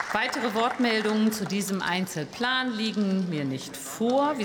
Weitere Wortmeldungen zu diesem Einzelplan liegen mir nicht vor.